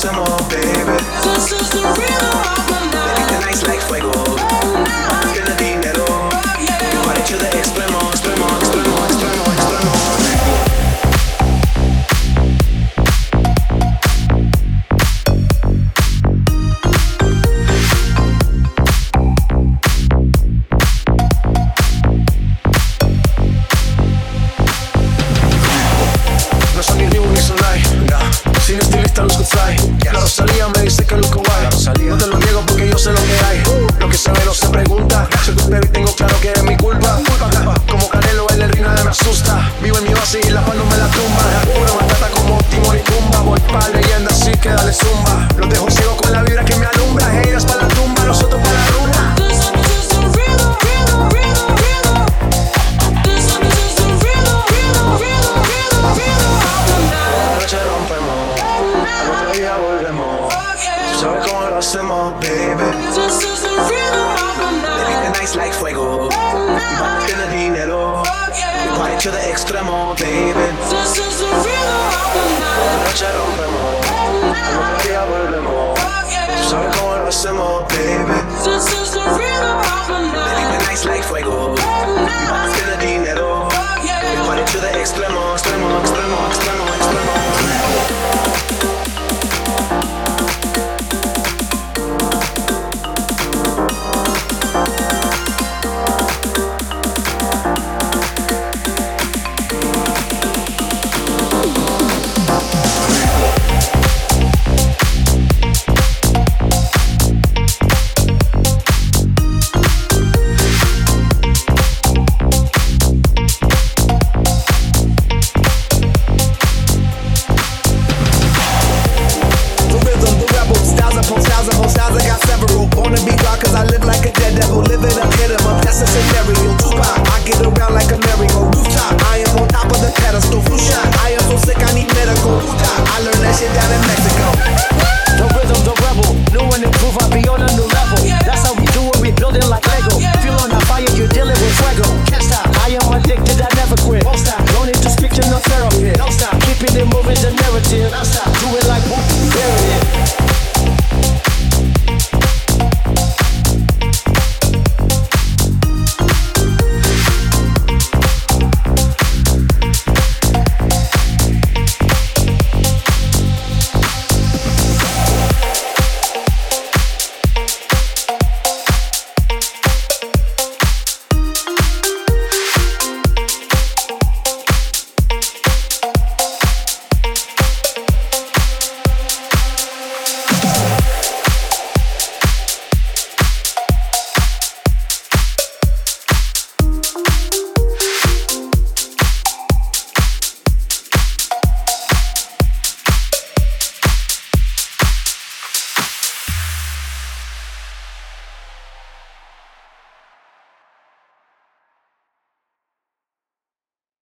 hacemos, baby. This is the rhythm of the night. The night's like fuego. Tiene dinero. Party to the extremo, extremo, extremo, extremo, extremo. No son ni Reebok ni Sonai, sin estilista luzco fly. La Rosalía me dice que luzco guay. No te lo niego porque yo sé lo que hay. Lo que se ve no se pregunta. Soy tu baby, tengo claro que es mi culpa. Como Canelo, el ritmo me asusta. Vivo en mi base y la paz no me la tumba. Pura batata como Timón y Pumba. Voy pa' leyenda, así que dale zumba. Los dejo ciego con la vibra que me alumbra. Heiras pa' la tumba, nosotros pa' la rumba. This is the rhythm, rhythm, rhythm, rhythm. This is the rhythm, rhythm, rhythm, rhythm, rhythm of the night. La noche rompemos, al otro día volvemos. Tú sabes cómo lo hacemos, baby. This is the rhythm of the The night. night's like fuego. Tiene dinero. Party to the extremo, baby. This is the rhythm of the La night. noche rompemos, al otro día volvemos. Tú sabes cómo lo hacemos, baby. This is the rhythm of the night. The night's like fuego.